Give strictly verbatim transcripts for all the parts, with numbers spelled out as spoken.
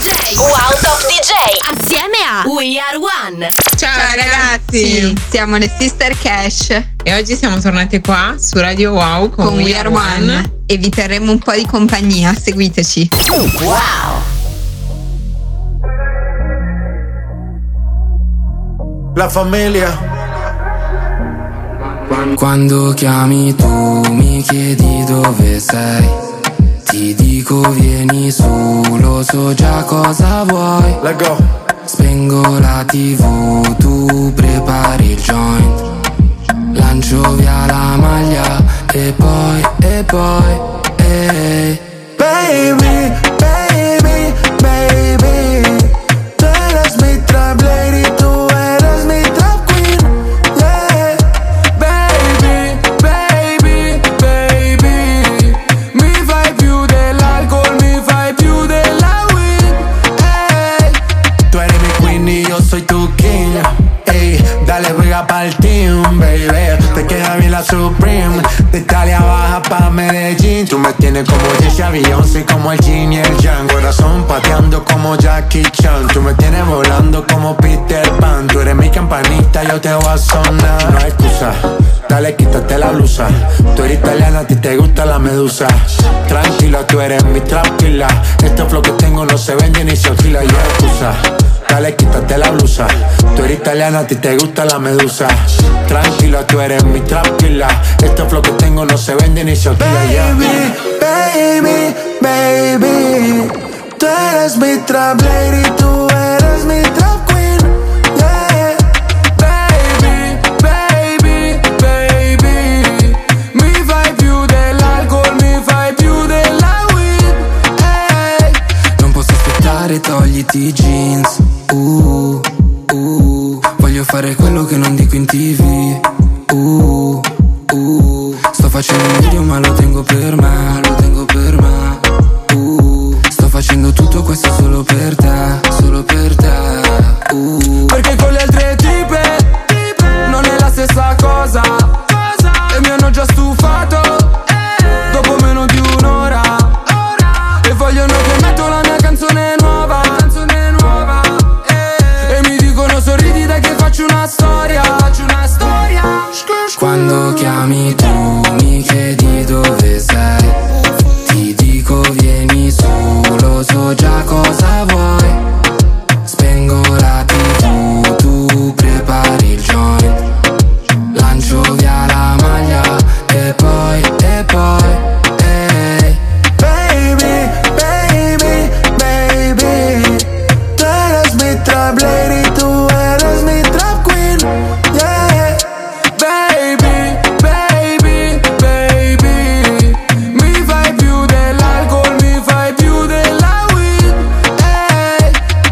J. Wow Top D J. Assieme a We Are One. Ciao, Ciao ragazzi. ragazzi, siamo le Sister Cash. E oggi siamo tornate qua su Radio Wow con, con We Are One. One. E vi terremo un po' di compagnia. Seguiteci. Wow. La famiglia. Quando chiami tu mi chiedi dove sei, ti dico vieni su, lo so già cosa vuoi. Let go. Spengo la tivù, tu prepari il joint, lancio via la maglia e poi, e poi, ehi. Baby, baby, baby, tú eres mi trap lady, tú eres mi trap queen, yeah. Baby, baby, baby, mi fai più dell'alcol, mi fai più della weed, hey. Tú eres mi queen y yo soy tu king, ey. Dale juega pa'l team, baby, te queda bien la Supreme, de Italia baja pa' Medellín. Tú me tienes como Jessie Beyoncé, como el Jin y el Yang. Corazón pateando como Jackie Chan. Tú me tienes volando como Peter Pan. Tú eres mi campanita, yo te voy a sonar. No hay excusa, dale quítate la blusa. Tú eres italiana, a ti te gusta la medusa. Tranquila, tú eres mi trap killer. Este flow que tengo no se vende ni se alquila. Y excusa, dale quítate la blusa. Tú eres italiana, a ti te gusta la medusa. Tranquila, tú eres mi trap killer. Este flow que tengo no se vende ni se alquila. Baby, baby, baby, tú eres mi trap lady, tú eres mi trap queen, yeah. Baby, baby, baby, mi fai più dell'alcol, mi fai più della weed, hey. Non posso aspettare, togliti i jeans, uh, uh. Voglio fare quello che non dico in tivù, uh, uh. Sto facendo un video ma lo tengo per me, lo tengo per me, uh. Sto facendo tutto questo solo per te, solo per te, uh. Perché con le altre tipe non è la stessa cosa, e mi hanno già stufato dopo meno di un'ora, e vogliono che metto la mia canzone nuova, canzone nuova, e mi dicono sorridi dai che faccio una storia, faccio una storia. Quando chiami tu mi chiedi dove sei, ti dico vieni su, lo so già cosa vuoi. Spengo la tivù, tu prepari il joint, lancio via la maglia e poi, e poi, ehi. Baby, baby, baby, tú eres mi trap lady, tú eres mi trap queen, yeah. Baby, baby, baby, mi fai più dell'alcol, mi fai più della weed, hey.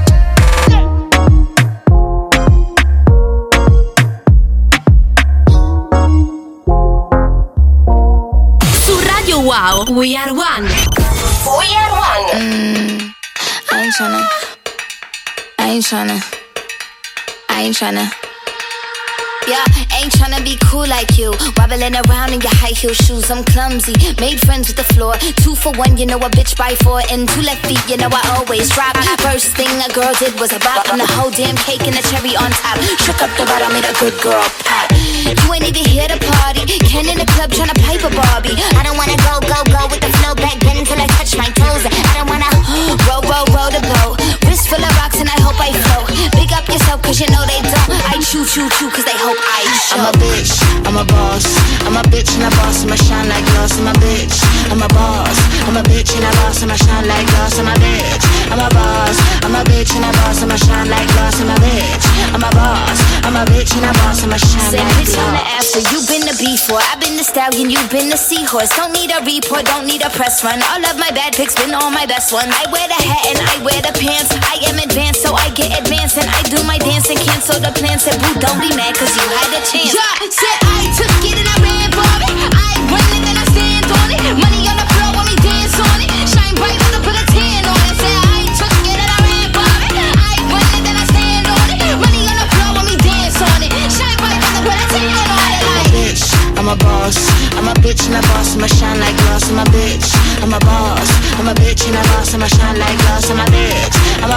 Su Radio Wow, We Are One. We Are One. Mm, I ain't tryna, I ain't tryna, I ain't tryna. Yeah, ain't tryna be cool like you, wobbling around in your high heel shoes. I'm clumsy, made friends with the floor. Two for one, you know a bitch by four. And two left feet, you know I always drop. First thing a girl did was a bop, and the whole damn cake and the cherry on top. Shook up the bottom, made a good girl pop. You ain't even here to party, Ken in the club tryna pipe a Barbie. I don't wanna go, go, go with the flow back then until I touch my toes. I don't wanna roll, roll, roll the boat. Wrist full of rocks and I hope I float. Big up yourself cause you know they don't. I chew, chew, chew cause they hope I show. I'm a bitch, I'm a boss. I'm a bitch and a boss, I'ma shine like glass. I'm a bitch, I'm a boss. I'm a bitch and a boss, I'ma shine like glass. I'm a bitch, I'm a boss. I'm a bitch and a boss, I'ma shine like glass. I'm a bitch, I'm a boss. I'm a bitch and a boss, I'ma shine Say, like bitch, glass. on the after, you been the before. I've been the stallion, you been the seahorse. Don't need a report, don't need a press run. All of my bad pics been all my best ones. I wear the hat and I wear the pants. I am advanced, so I get advanced. And I do my dance and cancel the plans. Said, boo, don't be mad, cause you had a chance. Yeah, said I took it and I ran for it. I run it and I stand on it. Money on the floor when we dance on it. Shine bright when I put a tan on it. Said I took it and I ran for it. I run it and I stand on it. Money on the floor when we dance on it. Shine bright when I put a tan on it. Like, bitch, I'm a boss. I'm a bitch and a boss. I'ma shine like glass. I'm a bitch. I'm a boss. I'm a bitch and a boss. I'ma shine like glass. I'm a bitch. I'm a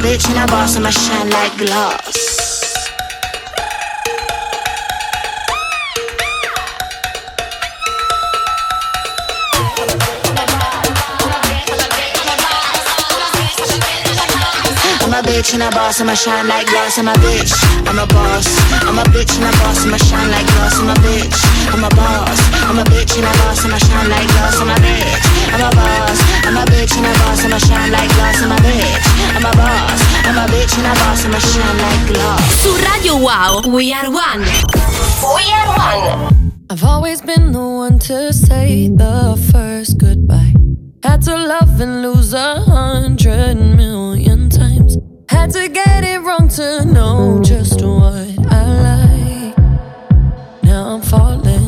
bitch and a boss, I'ma shine like glass. I'm a bitch and a boss, I'ma shine like glass. I'm a bitch, I'm a boss. I'm a bitch and a boss, I'ma shine like glass. I'm a bitch, I'm a boss. I'm a bitch and a boss, I'ma shine like glass. I'm a bitch, I'm a boss. I'm a bitch and a boss, I'ma shine like glass. I'm a bitch, I'm a boss. I'm a bitch and a boss, I'ma shine like glass. Su Radio Wow, We Are One. We Are One. I've always been the one to say the first goodbye. Had to love and lose a hundred million times. Had to get it wrong to know just what I like. Now I'm falling.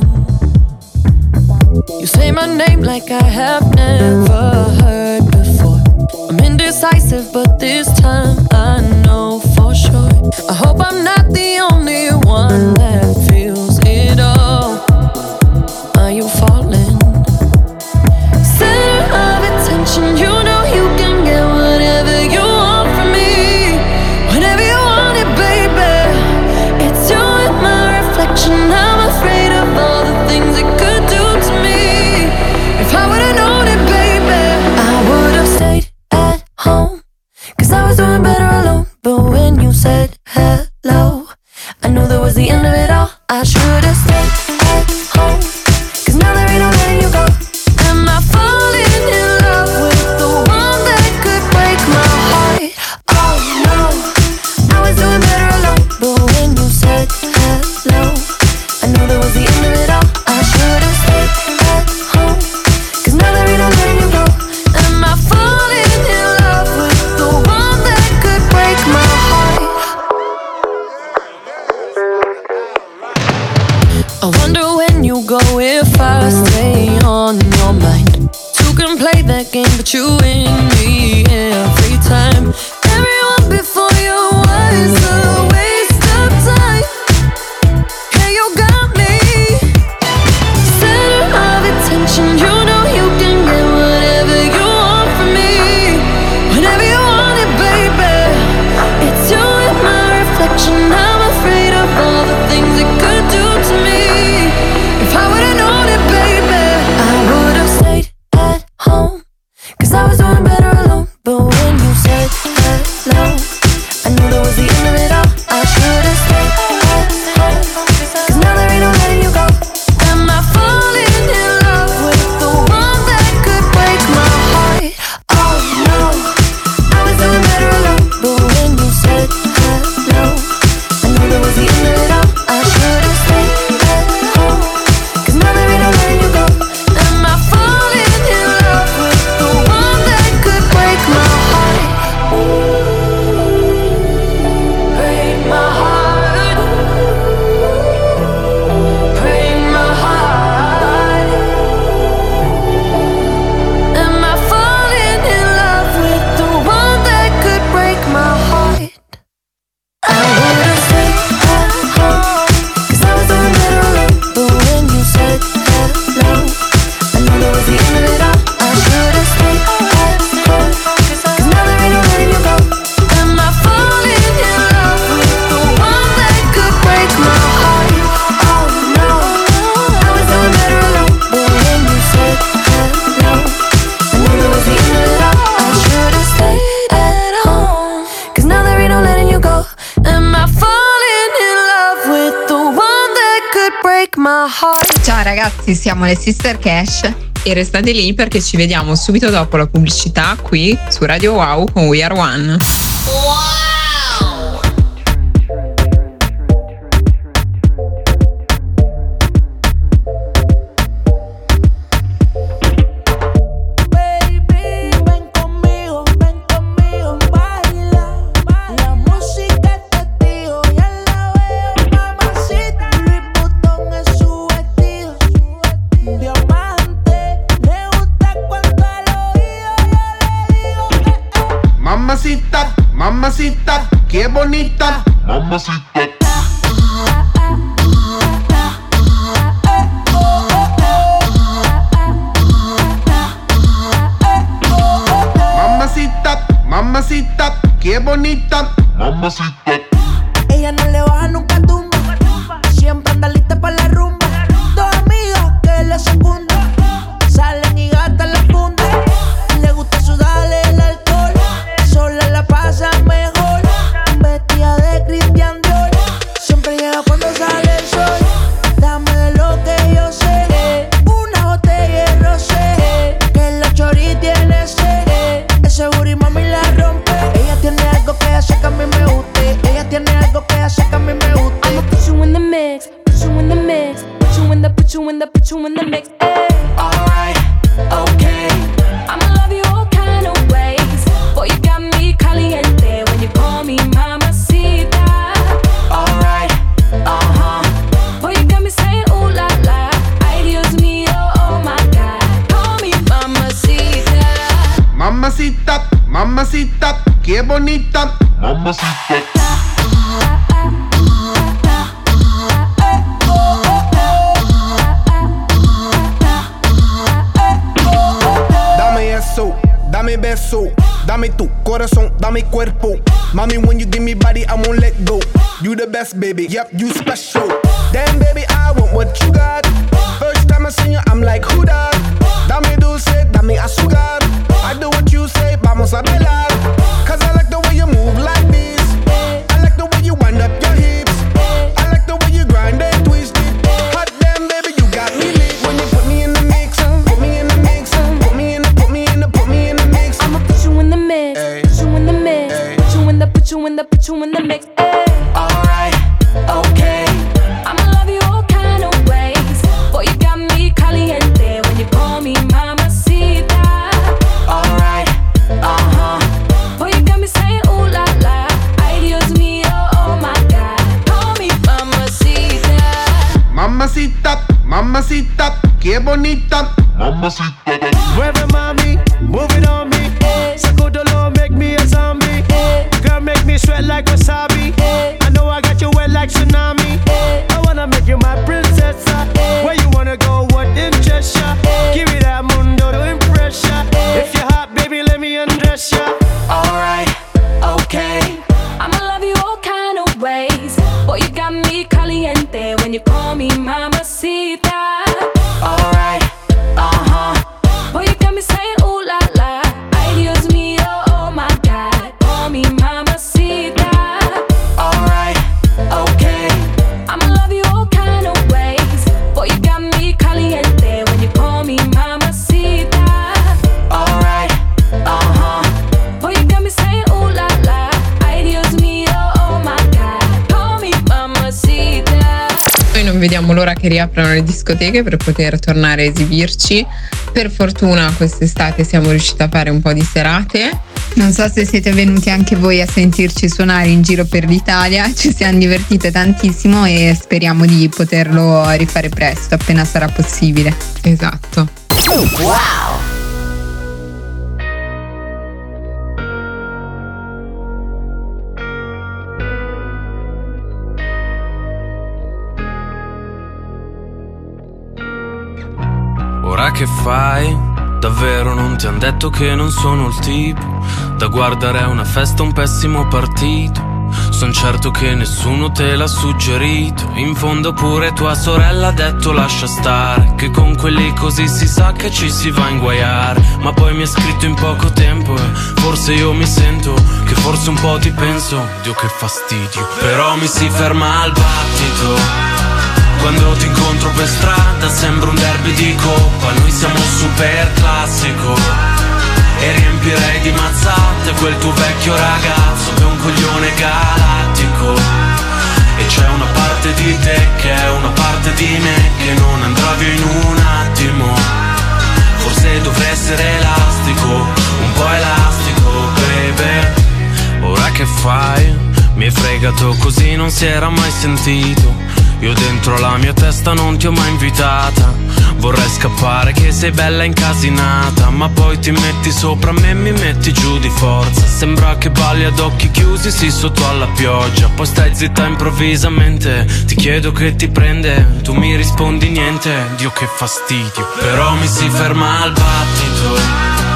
You say my name like I have never heard before. I'm indecisive, but this time I know for sure. I hope I'm not the only one that feels it all. Are you falling? Center of attention, you know you can get whatever you want from me. Whenever you want it, baby. It's you and my reflection. I'm afraid of all the things it could do to me. If I would've known it, baby, I would've stayed at home, cause I was doing better alone. But when you said hello, I knew that was the end of it all. I should've stayed at home, cause now there ain't no letting you go. Am I falling in love with the one that could break my heart? Oh no, I was doing better alone. But when you said hello, I knew that was the end of it all. I should've stayed at home, cause now there ain't no letting you go. Am I falling in love with the one that could break my heart? I wonder when you go if I stay on your mind. Two can play that game, but you win me every time. Everyone before you was a waste of time. Yeah, you got me. Center of attention, you know you can get whatever you want from me. Whenever you want it, baby. It's you and my reflection. I'm afraid of all the things it could do to me. If I would've known it, baby, I would've stayed at home, cause I was doing better alone. But when you said hello, I knew that was the end of it all. I should've stayed at home, cause now there ain't no letting you go. Am I falling in love with the one that could break my heart? Oh no, I was doing better alone. But when you said hello, I knew that was the end of it all. I should've stayed at home, cause now there ain't no letting you go. Am I falling in love with the one that could break my heart? Break my heart. Break my heart. Am I falling in love with the one that could break my heart? I would've stayed at home, cause I was doing better alone. But when you said hello, I knew that was the end of it all. I should've stayed at home, cause now there ain't no letting you go. Am I falling in love with the one that could break my heart? Oh no, I was doing better alone. But when you said hello, I knew that was the end of it all. I should've stayed at home, cause now there ain't no letting you go. Am I falling in love with the one that could break my heart? Ciao ragazzi, siamo le Sister Cash. E restate lì perché ci vediamo subito dopo la pubblicità qui su Radio Wow con We Are One. Baby, ven conmigo, ven conmigo, baila. La música es testigo, ya la veo, mamacita. Louis Vuitton es su vestido, diamante. Le gusta cuando al oído yo le digo, eh, eh. Mamacita, mamacita, qué bonita. Mamacita. Mamacita, mamacita, qué qué bonita. Mamacita. Ella no le baja nunca tumba. Siempre anda lista para la rumba. Dos amigas que le secundan. Salen y gastan la funda. Le gusta sudarle el alcohol. Sola la pasa mejor. Vestida de Christian Dior. Siempre llega cuando sale el sol. Dame de lo que yo sé. Una botella de rosé. Que la chori tiene sed. Ese booty mami la rompe. Ella tiene algo que hace que a mí me guste. Ella tiene algo que hace que a mí me guste. I'ma put you in the mix, put you in the mix, put you in the, put you in the, put you in the mix. Ay. Alright, okay. I'ma love you all kind of ways. Boy, you got me caliente when you call me mamacita. Alright, uh-huh. Boy, you got me saying ooh la la. Ay, Dios mío, oh my God. Call me mamacita. Mamacita, mamacita, qué bonita. Mamacita. Dame eso, dame beso, dame tu corazón, dame cuerpo. Mommy, when you give me body, I won't let go. You the best, baby, yep, you special. Damn, baby, I want what you got. First time I seen you, I'm like, who that? Dame dulce, dame azúcar. I do what you say, vamos a bailar. Cause I like the way you move like this. I like the way you wind up your hips. I like the way you grind and twist it. Hot damn, baby, you got me lit. When you put me in the mix, put me in the mix, put me in the, put me in the, put me in the mix. I'ma put you in the mix, Ay. put you in the mix, Ay. put you in the, put you in the, put you in the mix. Ay. Alright, okay. I'ma love you all kind of ways. Boy, you got me caliente when you call me mamacita. Alright, uh-huh. Boy, you got me saying ooh la la. Ay, Dios mío, oh my God. Call me mamacita. Mamacita, mamacita, qué bonita. Mamacita. Mueve mami, move it on me. Sacudolo, make me a zombie. Girl, make me sweat like wasabi. I know I got you wet like tsunami. I wanna make you my princess. Where you wanna go, what interests ya? Give me that mundo to impress ya. If you're hot, baby, let me undress ya. Alright, okay. I'ma love you all kind of ways. Boy, you got me caliente when you call me mamacita. Alright, uh-huh. Boy, you got me saying ooh la la. Ay, Dios mío, oh my God. Call me mamacita. Alright, okay. I'ma love you all kind of ways. Boy, you got me caliente when you call me mamacita. Alright, uh-huh. Boy, you got me saying ooh la la. Ay, Dios mío, oh my God. Call me mamacita. Noi non vediamo l'ora che riaprano le discoteche per poter tornare a esibirci. Per fortuna quest'estate siamo riusciti a fare un po' di serate. Non so se siete venuti anche voi a sentirci suonare in giro per l'Italia, ci siamo divertite tantissimo e speriamo di poterlo rifare presto, appena sarà possibile. Esatto. Ora che fai? Davvero non ti han detto che non sono il tipo da guardare a una festa, un pessimo partito. Son certo che nessuno te l'ha suggerito. In fondo pure tua sorella ha detto lascia stare, che con quelli così si sa che ci si va a inguaiare. Ma poi mi ha scritto in poco tempo e forse io mi sento che forse un po' ti penso. Dio che fastidio. Però mi si ferma al battito quando ti incontro per strada, sembra un derby di coppa. Noi siamo super classico e riempirei di mazzate quel tuo vecchio ragazzo che è un coglione galattico. E c'è una parte di te che è una parte di me che non andrà via in un attimo. Forse dovrei essere elastico, un po' elastico, baby. Ora che fai? Mi hai fregato così, non si era mai sentito. Io dentro la mia testa non ti ho mai invitata. Vorrei scappare che sei bella incasinata, ma poi ti metti sopra me e mi metti giù di forza. Sembra che balli ad occhi chiusi, sì, sotto alla pioggia. Poi stai zitta improvvisamente, ti chiedo che ti prende, tu mi rispondi niente. Dio che fastidio. Però mi si ferma al battito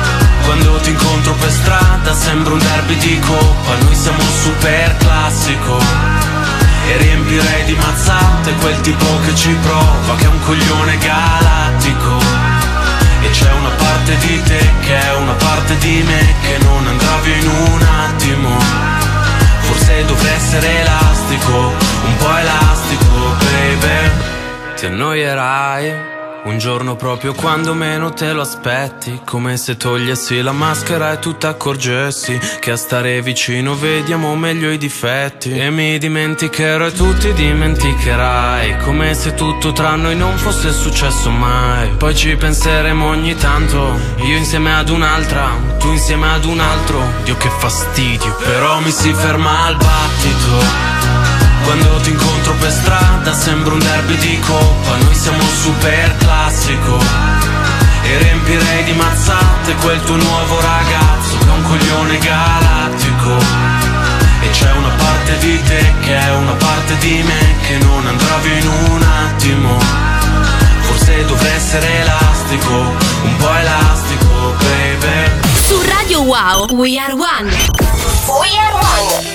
Quando ti incontro per strada sembra un derby di coppa. Noi siamo un super classico e riempirei di mazzate quel tipo che ci prova, che è un coglione galattico. E c'è una parte di te che è una parte di me che non andrà via in un attimo. Forse dovrei essere elastico, un po' elastico, baby. Ti annoierai un giorno proprio quando meno te lo aspetti, come se togliessi la maschera e tu t'accorgessi che a stare vicino vediamo meglio i difetti. E mi dimenticherò e tu ti dimenticherai, come se tutto tra noi non fosse successo mai. Poi ci penseremo ogni tanto, io insieme ad un'altra, tu insieme ad un altro. Dio che fastidio, però mi si ferma al battito. Quando ti incontro per strada sembra un derby di coppa. Noi siamo un super classico e riempirei di mazzate quel tuo nuovo ragazzo che è un coglione galattico. E c'è una parte di te che è una parte di me che non andrà via in un attimo. Forse dovrei essere elastico, un po' elastico, baby. Su Radio Wow, We Are One. We Are One.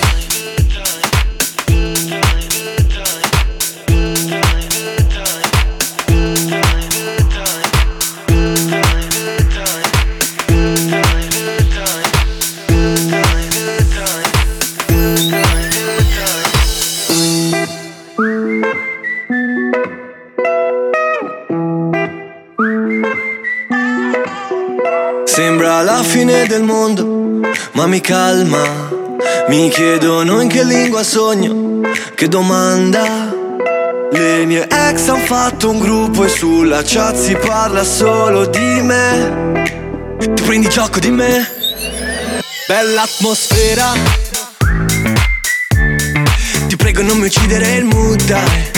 Sembra la fine del mondo, ma mi calma. Mi chiedono in che lingua sogno, che domanda. Le mie ex han fatto un gruppo e sulla chat si parla solo di me. Ti prendi gioco di me? Bella atmosfera. Ti prego non mi uccidere il mood, dai.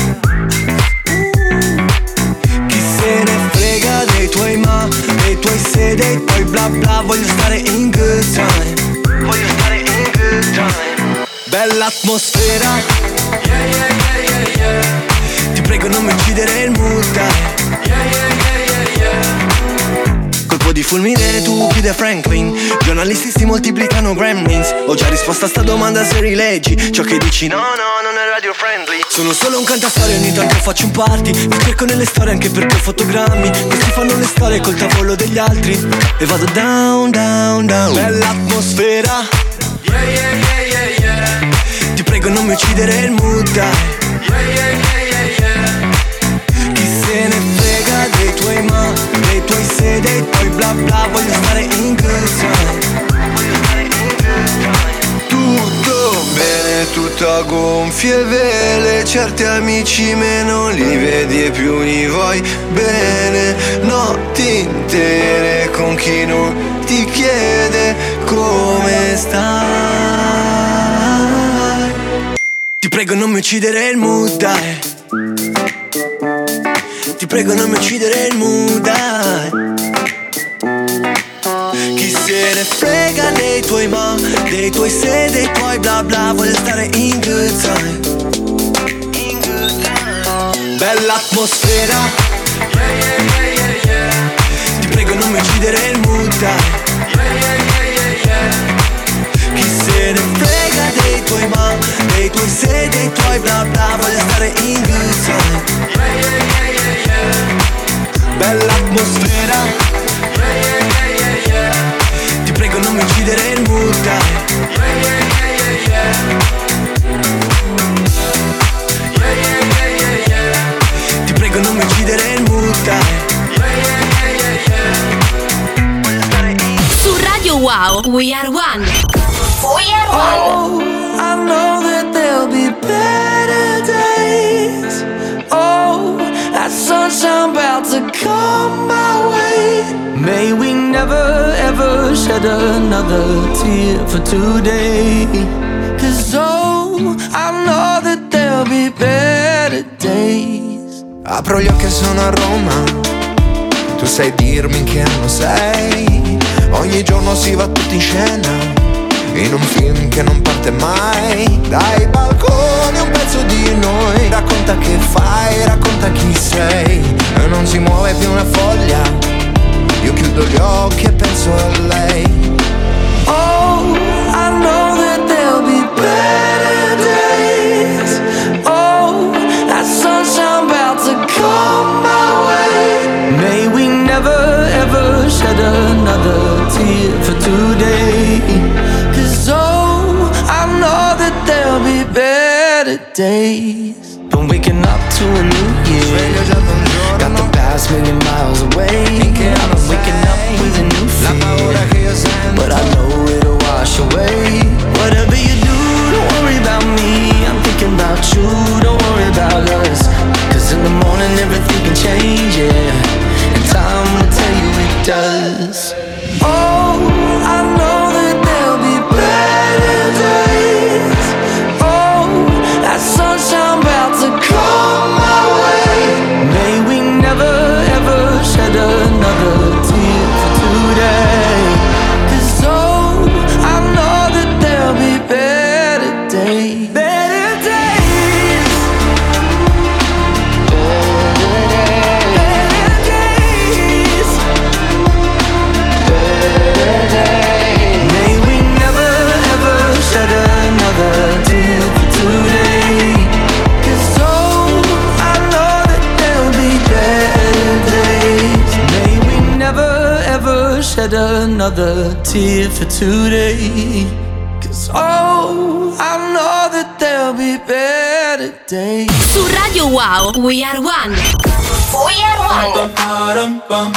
Chi se ne frega dei tuoi ma, dei tuoi se, dei tuoi bla bla. Voglio stare in good time, voglio stare in good time. Bella atmosfera. Yeah, yeah, yeah, yeah, yeah. Ti prego non mi uccidere il mood, dai. Yeah, yeah, yeah, yeah, yeah. Colpo di fulmine tu chiude Franklin. Giornalisti si moltiplicano gremlins. Ho già risposto a sta domanda se rileggi ciò che dici. No, no, non è radio friendly. Sono solo un cantastorie, ogni tanto faccio un party. Mi cerco nelle storie anche perché ho fotogrammi. Questi fanno le storie col tavolo degli altri. E vado down, down, down. Bella atmosfera. Yeah, yeah, yeah, yeah, yeah. Ti prego non mi uccidere il mood, dai. Yeah, yeah, yeah, yeah, yeah. Chi se ne frega dei tuoi ma, dei tuoi se, dei tuoi bla bla. Voglio stare in good time, voglio stare in good time. Tutto bene, tutto a gonfie vele. Certi amici me non li vedi e più li vuoi bene. Notti intere con chi non ti chiede come stai. Ti prego non mi uccidere il mood, dai. Ti prego non mi uccidere il mood, dai. Chi se ne frega dei tuoi ma, dei tuoi se, dei tuoi bla bla. Voglio stare in good time, in good time. Bella atmosfera. Yeah, yeah, yeah, yeah, yeah. Ti prego non mi uccidere il mood, dai. Yeah, yeah, yeah, yeah, yeah. Chi se ne frega dei tuoi ma, dei tuoi se, dei tuoi bla bla. Voglio stare in good time. Yeah, yeah, yeah, yeah, yeah. Bella atmosfera. Yeah, yeah, yeah, yeah, yeah. Ti prego non mi uccidere il mood, dai. Yeah, yeah, yeah, yeah, yeah. Yeah, yeah, yeah, yeah, yeah. Ti prego non mi uccidere il mood, dai. Yeah, yeah, yeah, yeah, yeah. Voglio stare in. Su Radio Wow, We Are One. We Are One. Oh, I know that there'll be better days. Oh, that sunshine about to come my way. May we never ever shed another tear for today. Cause oh, I know that there'll be better days. Apro gli occhi e sono a Roma. Tu sai dirmi in che anno sei. Ogni giorno si va tutti in scena in un film che non parte mai. Dai balconi un pezzo di noi. Racconta che fai, racconta chi sei. E non si muove più una foglia. Io chiudo gli occhi e penso a lei. days. Been waking up to a new year. Got the past million miles away. I'm waking up with a new fear, but I know it'll wash away. Whatever you do, don't worry about me. I'm thinking about you, don't worry about us. Cause in the morning everything can change, yeah. And time will tell you it does. Oh, I know that there'll be better days. Oh, that sunshine about to come my way. May we never ever shed another tear for today. Cause oh, I know that there'll be better days. Better days. Better days. Better days. May we never ever shed another tear for today. Cause oh, I know that there'll be better days. May we never ever shed another tear for today. Cause oh, I know that there'll be better days. Su Radio Wow, We Are One. We Are One.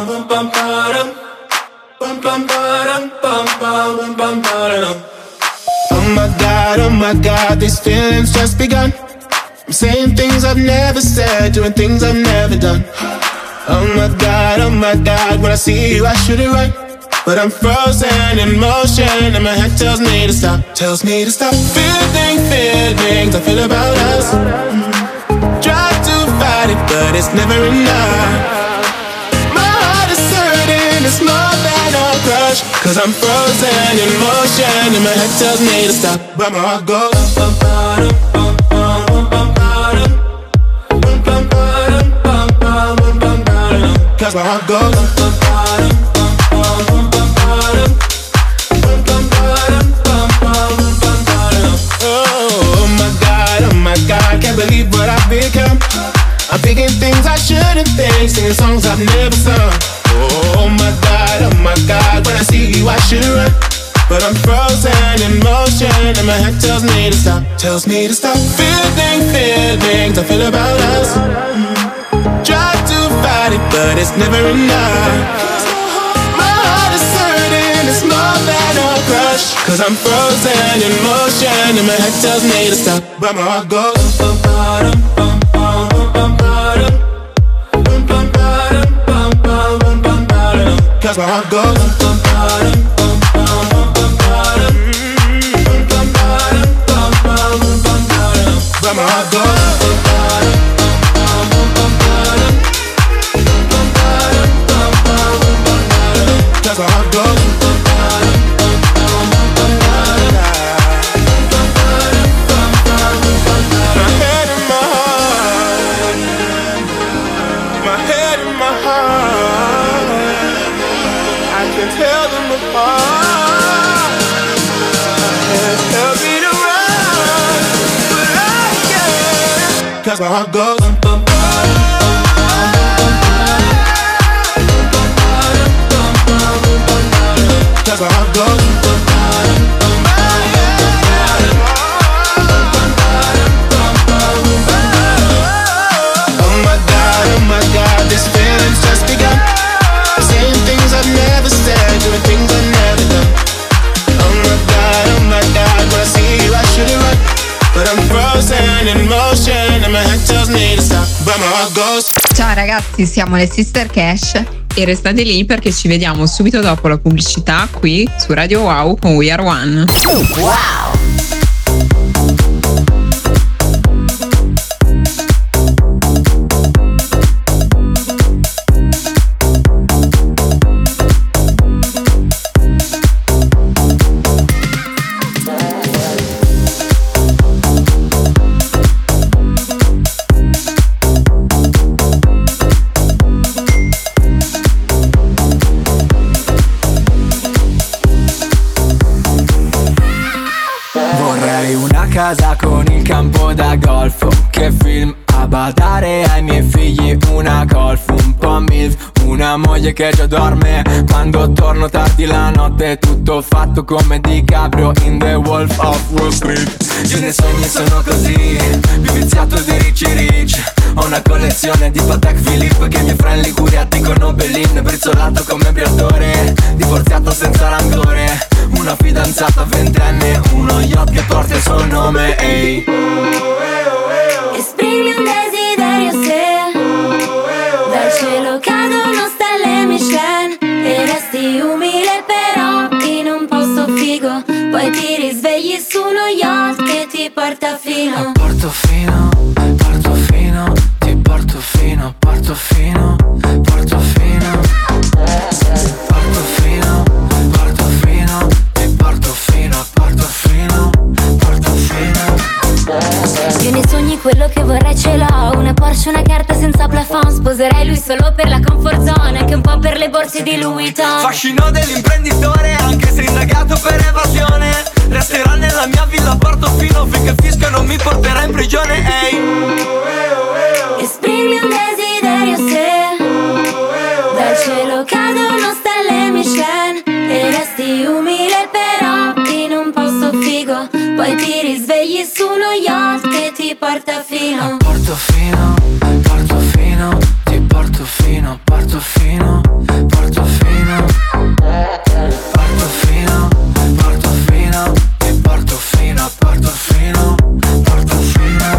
Oh my God, oh my God, these feelings just begun. I'm saying things I've never said, doing things I've never done. Oh my God, oh my God, when I see you I should it right, but I'm frozen in motion and my head tells me to stop, tells me to stop. Feeling, feelings I feel about us. Try to fight it, but it's never enough. My heart is hurting, it's more than a crush. Cause I'm frozen in motion and my head tells me to stop, but my heart goes. Cause my heart goes. Oh my God, oh my God, can't believe what I've become. I'm thinking things I shouldn't think, singing songs I've never sung. Oh my God, oh my God, when I see you I should run, but I'm frozen in motion and my head tells me to stop, tells me to stop. Feeling, feelings I feel about us. Try to fight it, but it's never enough. My heart is hurting, it's more than a crush. Cause I'm frozen in motion and my head tells me to stop, but my heart goes. Cause my heart goes. But my heart goes. Cause my heart goes. My head and my heart. My head and my heart. I can tell them apart. Tell me to run, but I can't. Cause my heart goes. Cause my heart goes. Oh my God, oh my God, this feeling's just begun. Saying things I've never said, doing things I've never done. Oh my God, oh my God, when I see you I should it right, but I'm frozen in motion and my head tells me to stop, but my heart goes. Ciao ragazzi, siamo le Sister Cash e restate lì perché ci vediamo subito dopo la pubblicità qui su Radio Wow con We Are One. Wow! Casa con il campo da golf, che film a badare ai miei figli, una golf, un po' milf, un una moglie che già dorme. Quando torno tardi la notte, tutto fatto come DiCaprio in The Wolf of Wall Street. Io nei sogni sono così, più viziato di Ricci Rich. Ho una collezione di Patek Philippe che i miei friend Liguria dicono Bellin. Brizzolato come Briatore, divorziato senza rancore. Una fidanzata ventenne, uno yacht che porta il suo nome. Ehi, esprimi un desiderio se dal cielo cadono stelle Michelin e resti umile però in un posto figo. Poi ti risvegli su uno yacht che ti porta fino a Portofino, Portofino, ti porto fino, Portofino, Portofino, Portofino, Portofino, ti porto fino a Portofino, Portofino. Io nei sogni quello che vorrei ce l'ho, una Porsche, una carta senza plafond. Sposerei lui solo per la comfort zone, anche un po' per le borse di Louis Vuitton. Fascino dell'imprenditore, anche se indagato per evasione. Resterà nella mia villa a Portofino finché fisco non mi porterà in prigione. Ehi, esprimi un desiderio se dal cielo cadono stelle Michelin e resti umile però in un posto figo. Poi ti risvegli su uno yacht che ti porta fino a Portofino, Portofino, ti porto fino a Portofino, Portofino, Portofino, Portofino, ti porto fino a Portofino, Portofino.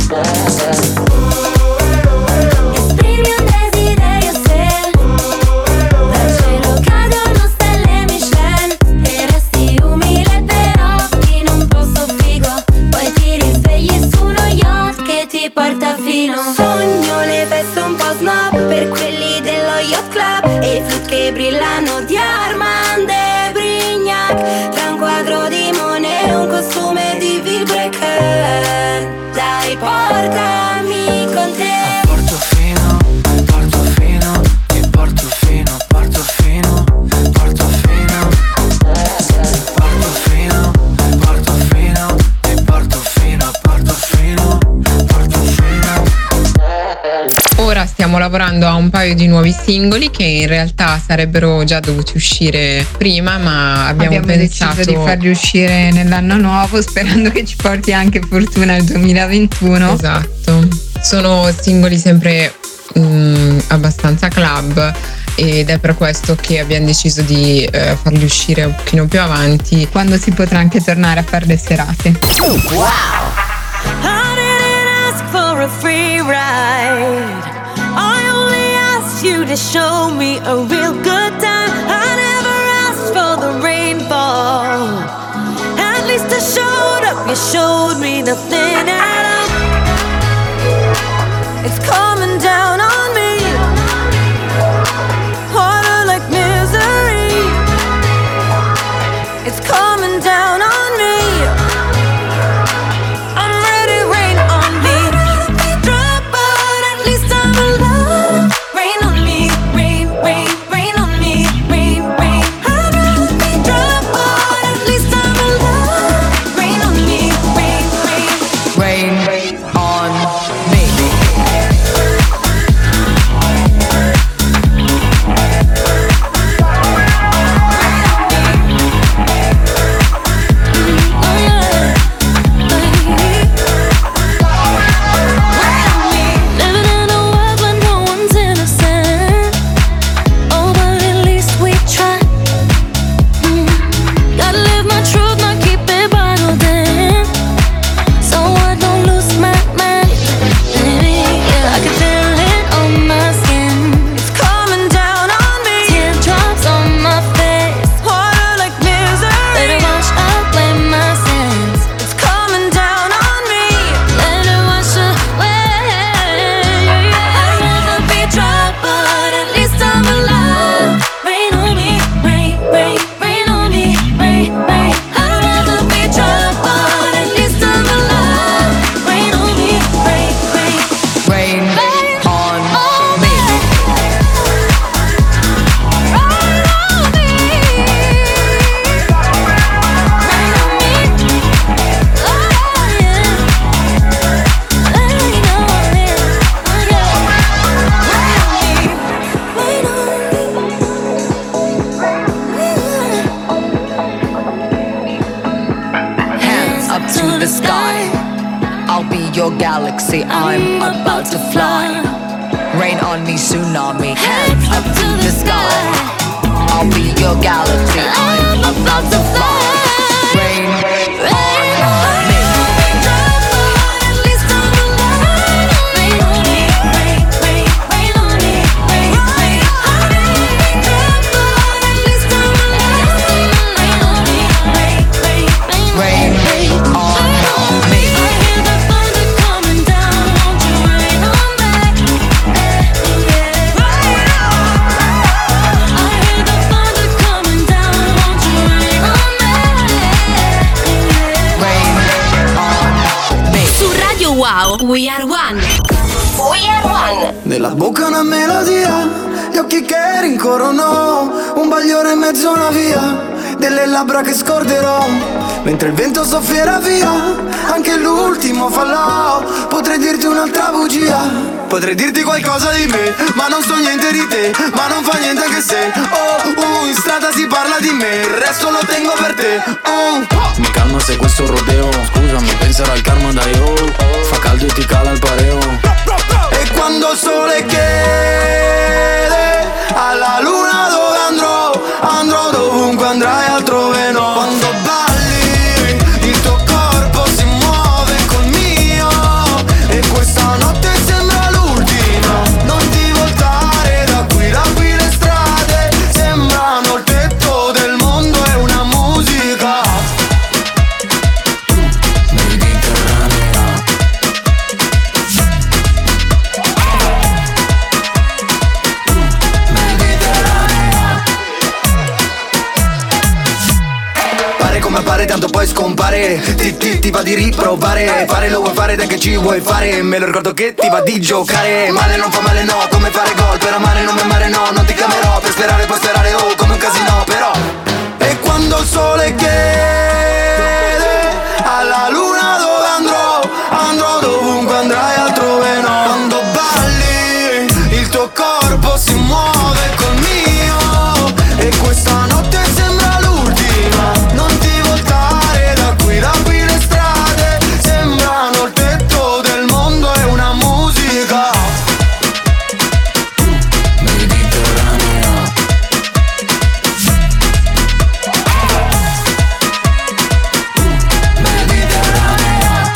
Esprimi un desiderio se dal cielo cadono stelle Michelin e resti umile però in un posto figo. Poi ti risvegli su uno yacht che ti porta fino. Sogno le veste un po' snob per quelli dello yacht club e i flood che brillano di Armand e Brignac. Tra un quadro di Monet e un costume di Vilebrequin. Dai, portami con te. Portofino, Portofino, ti porto fino a Portofino, Portofino, Portofino, Portofino, ti porto fino a Portofino, Portofino. Ora stiamo lavorando a un paio di nuovi singoli che in realtà sarebbero già dovuti uscire prima, ma abbiamo, abbiamo pensato deciso di farli uscire nell'anno nuovo, sperando che ci porti anche fortuna il duemilaventuno. Esatto, sono singoli sempre mh, abbastanza club ed è per questo che abbiamo deciso di eh, farli uscire un pochino più avanti, quando si potrà anche tornare a fare le serate. Wow! I didn't ask for a free ride. I only asked you to show me a real good time. I never asked for the rainfall. At least I showed up, you showed me nothing at all. It's coming down on me, harder like misery. It's coming down on me. I'm ready, rain on me. Drop out, at least I'm alive. Rain on me, rain, rain, rain on me, rain, rain. I'd rather be drop out, at least I'm alive. Rain on me, rain, rain. your galaxy. I'm about to fly. Rain on me, tsunami, hands up to the sky. I'll be your galaxy. I'm about to fly. Rain on me. Wow, We Are One. We Are One. Nella bocca una melodia, gli occhi che rincorrono, un bagliore in mezzo a una via, delle labbra che scorderò, mentre il vento soffierà via, anche l'ultimo fallò. Potrei dirti un'altra bugia, potrei dirti qualcosa di me, ma non so niente di te, ma non fa niente anche se oh, uh, in strada si parla di me, il resto lo tengo per te. uh. Mi calma se questo rodeo, scusami, penserò al karma da io. Fa caldo e ti cala il pareo. E quando il sole chiede alla luna dove andrò, andrò dovunque andrai altrove no. Quando balli il tuo corpo si muove col mio, e questa notte sembra l'ultima. Non ti voltare da qui, da qui le strade sembrano il tetto del mondo, è una musica appare tanto poi scompare. Ti, ti, ti va di riprovare, fare lo vuoi fare, dai che ci vuoi fare. Me lo ricordo che ti va di giocare. Male non fa male no, come fare gol. Per amare non mi amare no, non ti chiamerò. Per sperare puoi sperare oh, come un casino però. E quando il sole chiede alla luna dove andrò, andrò dovunque andrai altrove no. Quando balli il tuo corpo si muove col mio, e questa notte sembra l'ultima. Non ti voltare da qui, da qui le strade sembrano il tetto del mondo, è una musica mediterranea. Mediterranea.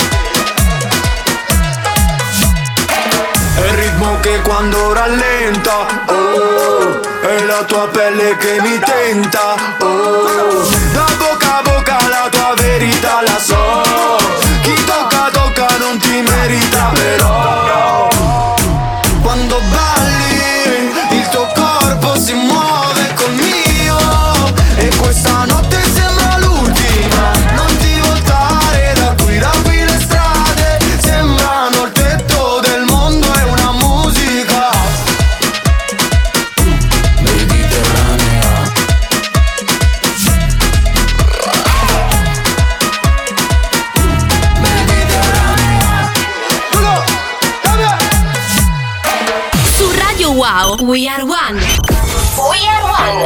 È il ritmo che quando rallenta, oh, è la tua pelle che mi tenta, oh, da bocca a bocca la tua verità la so. Chi tocca tocca non ti merita però. Quando balli il tuo corpo si muove col mio, e questa notte sembra l'ultima. Non ti voltare da qui, da qui le strade sembrano il tetto del mondo, è una musica mediterranea. Su Radio Wow, We Are One. We Are One.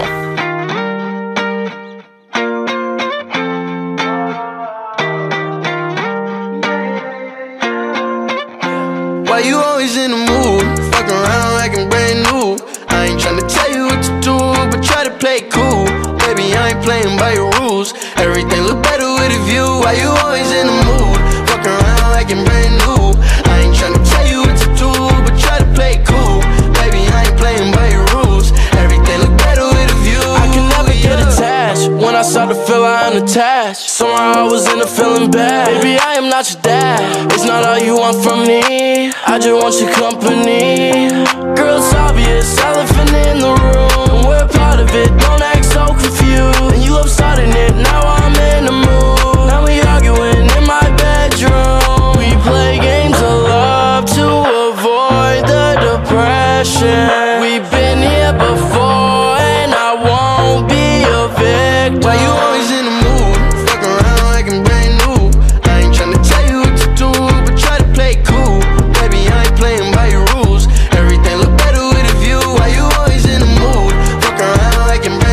Why you always in the mood? Fuck around like I'm brand new. I ain't tryna tell you what to do, but try to play cool. Baby, I ain't playing by your rules. Everything look better with a view. Why you always in the mood? Fuck around like I'm brand new. I ain't tryna tell you what to do, but try to play cool. Baby, I ain't playing by your rules. Everything look better with a view. I can never get attached. When I start to feel I'm unattached, somehow I was in a feeling bad. Baby, I am not your dad. It's not all you want from me. I just want your company. Girl, it's obvious, elephant in the room. We're part of it, don't act so confused. And you love starting it, now I'm in the mood. Now we arguing in my bedroom. We play games of love to avoid the depression. We've been here before and I won't be a victim. Why you always in the mood? Fuck around like I'm brand new. I ain't tryna tell you what to do, but try to play cool. Baby, I ain't playing by your rules. Everything look better with a view. Why you always in the mood? Fuck around like I'm brand new.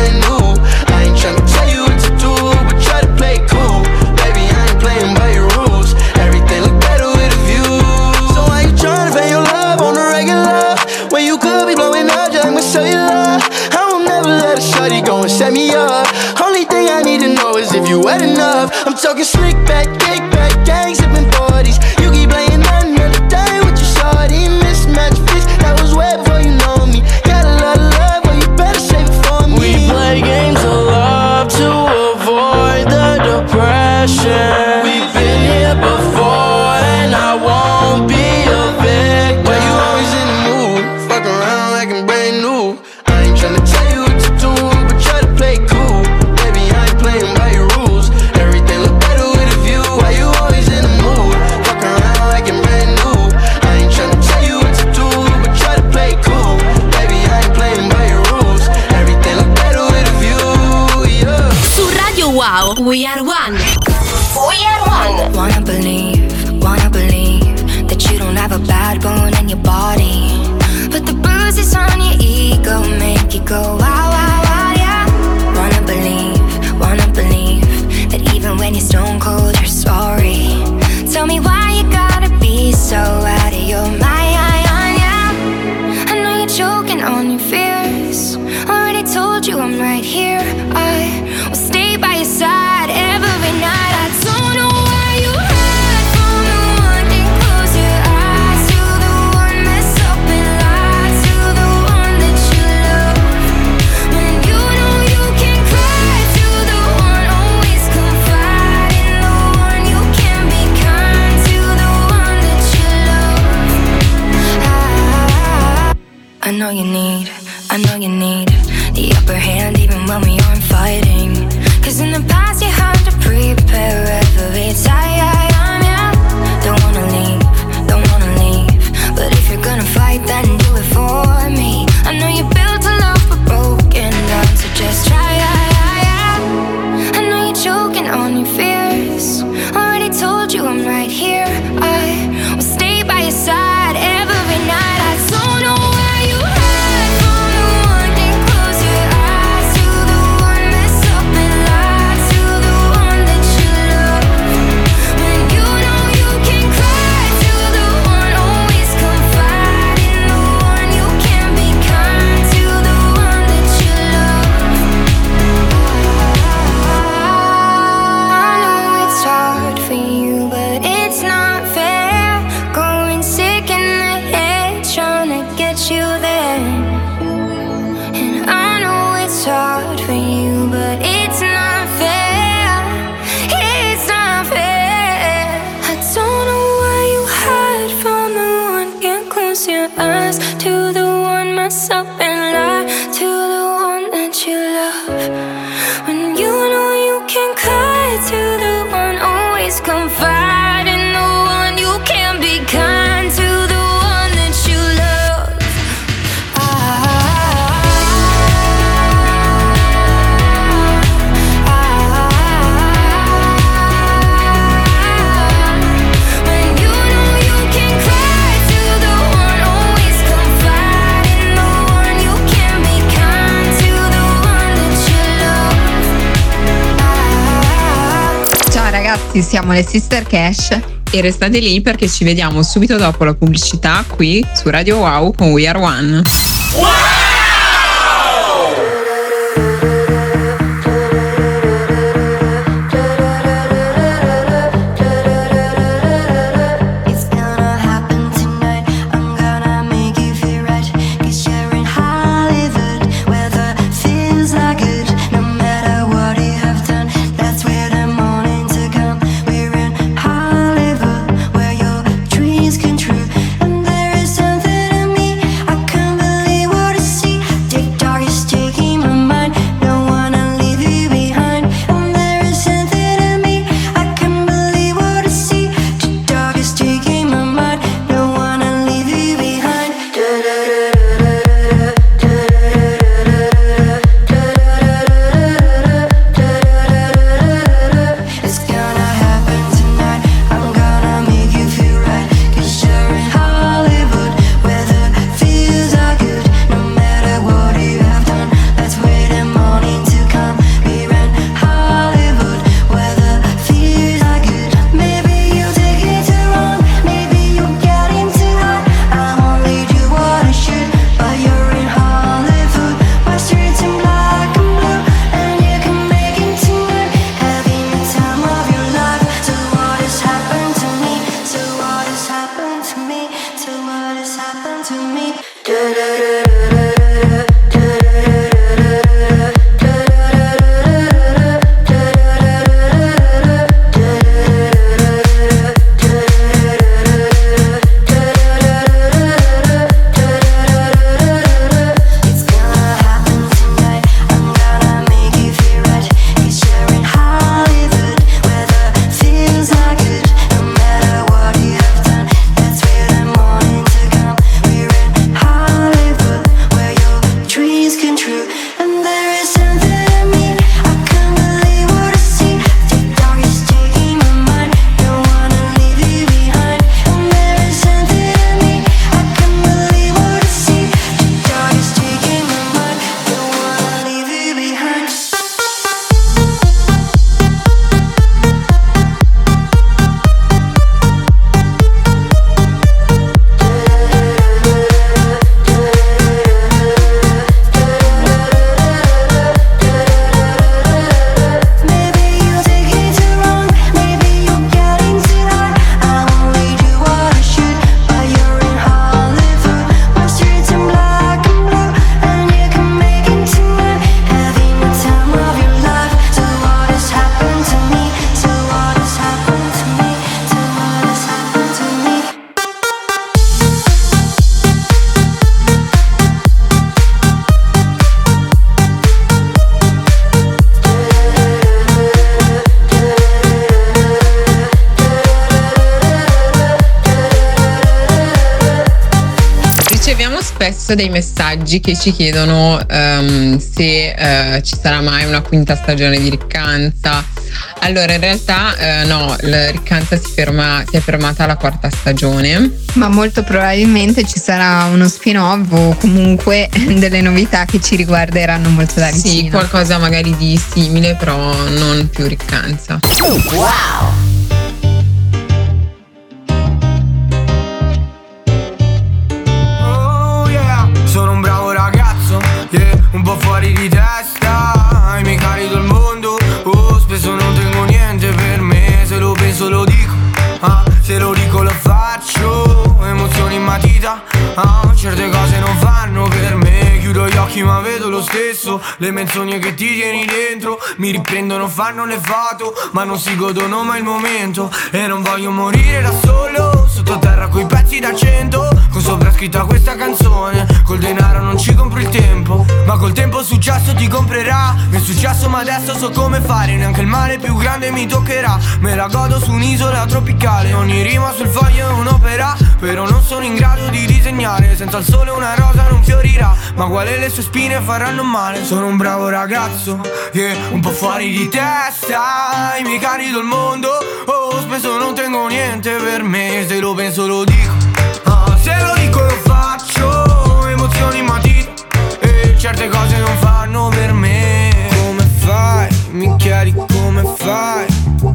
got a shorty going set me up. Only thing I need to know is if you wet enough. I'm talking slick back, kick back, gang sipping forties. You keep playing another day with your shorty. Mismatch fish, that was way before you know me. Got a lot of love, but you better save it for me. We play games of love to avoid the depression. We've been here before and I won't be a victim. Why you always in the mood? Fuck around like I'm brand new. I ain't tryna tell you what to do, but try to play cool. Baby, I ain't playing by your rules. Everything look better with a view. Why you always in the mood? Fuck around like I'm brand new. I ain't tryna tell you what to do, but try to play cool. Baby, I ain't playing by your rules. Everything look better with a view, yeah. Su Radio Wow, We Are One. We Are One. Wanna believe, wanna believe that you don't have a bad bone in your body, but the bruises on your ego make you go wow, wow, wow, yeah. Wanna believe, wanna believe that even when you're stone cold, you're sorry. Tell me why you gotta be so out of your mind, yeah. I know you're choking on your fears. Already told you I'm right here. I will stay by your side every night. I don't know why you hide from the one. Can close your eyes to the one mess up and lie to the one that you love. When you know you can cry to the one, always confide in the one. You can be kind to the one that you love. I, I know you need, I know you need the upper hand even when we aren't fighting. Cause in the past you had to prepare every time, yeah. Don't wanna leave, don't wanna leave, but if you're gonna fight then do it for me. I know you built a love but broken down, so just try, yeah, yeah. I know you're choking on your fears. Already told you I'm right here. I will stay by your side every night. I don't know where you hide from the one. Can close your eyes to the one mess up and lie to the one that you love. When you know you can cry to the one, always confide in the one. You can be kind to the one that you love. I know it's hard for you, but it's not fair. Going sick in the head, trying to get you there. And I know it's hard for you, but it's not fair. It's not fair. I don't know why you hide from the one. Can't close your eyes to the one mess up and lie to the one that you love. When you know you can cry to the one, always confide in the one. You can be kind to the one that you love. When you know you can cry to the one, always confide in the one. You can be kind to the one that you love. Ciao ragazzi, siamo le Sister Cash E restate lì perché ci vediamo subito dopo la pubblicità qui su Radio Wow con We Are One. It's gonna happen tonight. I'm gonna make you feel right. 'Cause you're in Hollywood, where the feels are good. No matter what you have done, that's where the morning to come. We're in Hollywood, where your dreams come true. And there is something in me, I can't believe what I see. spesso dei messaggi che ci chiedono um, se uh, ci sarà mai una quinta stagione di Riccanza. Allora, in realtà uh, no, la Riccanza si, ferma, si è fermata alla quarta stagione. Ma molto probabilmente ci sarà uno spin-off o comunque delle novità che ci riguarderanno molto da vicino. Sì, qualcosa magari di simile, però non più Riccanza. Wow! Sono un bravo ragazzo, yeah, un po' fuori di testa. Mi carico il mondo, oh, spesso non tengo niente per me. Se lo penso lo dico, ah, se lo dico lo faccio. Emozioni in matita, ah, certe cose non fanno per me. Chiudo gli occhi ma vedo lo stesso. Le menzogne che ti tieni dentro mi riprendono, fanno le foto, ma non si godono mai il momento. E non voglio morire da solo, sottoterra coi pezzi da cento, con sopra scritta questa canzone. Col denaro non ci compro il tempo, ma col tempo il successo ti comprerà. Mi è successo ma adesso so come fare, neanche il male più grande mi toccherà. Me la godo su un'isola tropicale, ogni rima sul foglio è un'opera. Però non sono in grado di disegnare, senza il sole una rosa non fiorirà. Ma quale le sue spine faranno male. Sono un bravo ragazzo, yeah, un po' fuori di testa. Mi carico il mondo, oh, spesso non tengo niente per me. Se lo penso lo dico, ah, se lo dico lo faccio. Emozioni in matita, e certe cose non fanno per me. Come fai, mi chiedi come fai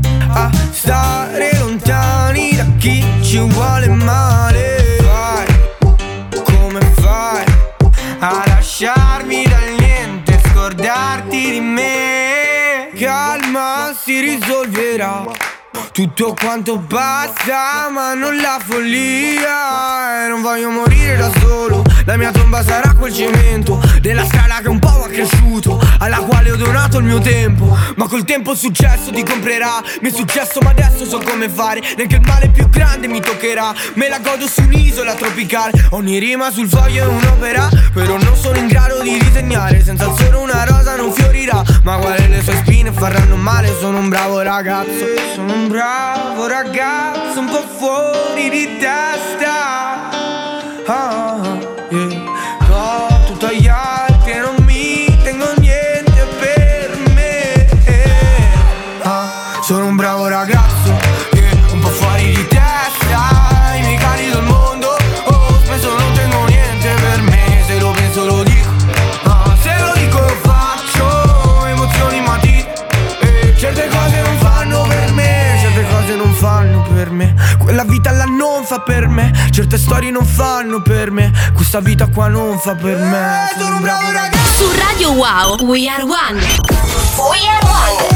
a stare lontani da chi ci vuole male. Fai, come fai a lasciarmi dal niente, scordarti di me. Calma, si risolverà tutto quanto basta, ma non la follia. E non voglio morire da solo, la mia tomba sarà quel cemento della strada che un po' ha cresciuto, alla quale ho donato il mio tempo. Ma col tempo il successo ti comprerà. Mi è successo ma adesso so come fare, neanche il male più grande mi toccherà. Me la godo su un'isola tropicale, ogni rima sul foglio è un'opera. Però non sono in grado di disegnare, senza il sole una rosa non fiorirà. Ma quale le sue spine faranno male. Sono un bravo ragazzo, sono un bravo ragazzo, un po' fuori di testa, ah, yeah. Ho tutto agli altri e non mi tengo niente per me, ah, sono un bravo ragazzo, yeah, un po' fuori di testa. Mi carico il mondo, oh, spesso non tengo niente per me. Se lo penso lo dico, ah, se lo dico lo faccio. Emozioni in matita, e certe cose non fanno per me. Cose non fanno per me, quella vita là non fa per me, certe storie non fanno per me, questa vita qua non fa per me. Sono un bravo ragazzo. Su Radio Wow, We Are One. We Are One.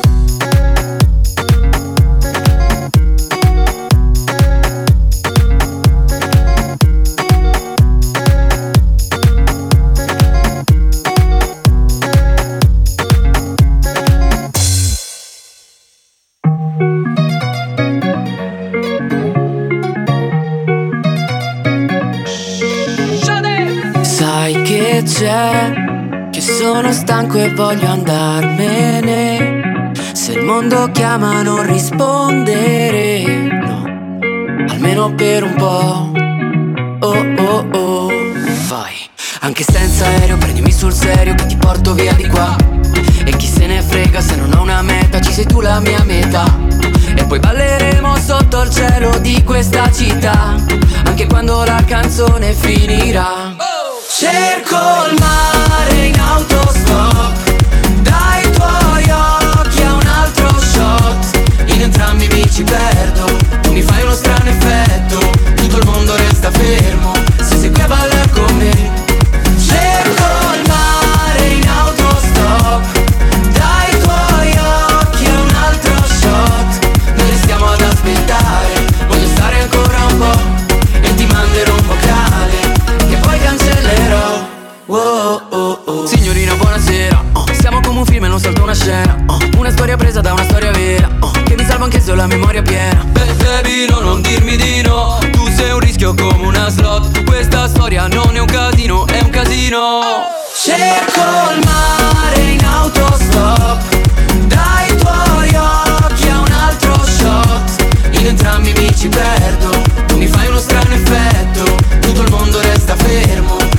C'è che sono stanco e voglio andarmene. Se il mondo chiama non rispondere, no, almeno per un po'. Oh oh oh, vai. Anche senza aereo prendimi sul serio che ti porto via di qua. E chi se ne frega se non ho una meta, ci sei tu la mia metà. E poi balleremo sotto il cielo di questa città, anche quando la canzone finirà. Cerco il mare in autostop, dai tuoi occhi a un altro shot. In entrambi mi ci perdo, tu mi fai uno strano effetto, tutto il mondo resta fermo se sei qui a ballare con me. Cerco il mare in autostop, dai tuoi occhi a un altro shot. Noi restiamo ad aspettare, voglio stare ancora un po' e ti manderò un vocale che poi cancellerò. Oh, oh, oh. Signorina buonasera, oh, siamo come un film e non salto una scena, oh, una storia presa da una storia vera, oh, che mi salva anche se ho la memoria piena. Beh, baby, no, non dirmi di no, tu sei un rischio come una slot. Questa storia non è un casino, è un casino. oh. Cerco il mare in autostop, dai tuoi occhi a un altro shot. In entrambi mi ci perdo, tu mi fai uno strano effetto, tutto il mondo resta fermo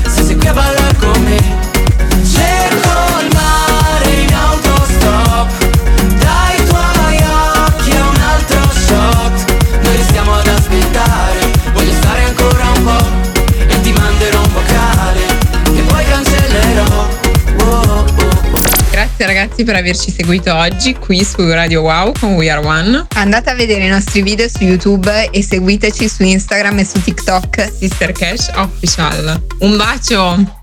Grazie ragazzi per averci seguito oggi qui su Radio Wow con We Are One. Andate a vedere i nostri video su YouTube e seguiteci su Instagram e su TikTok. Sister Cash Official. Un bacio!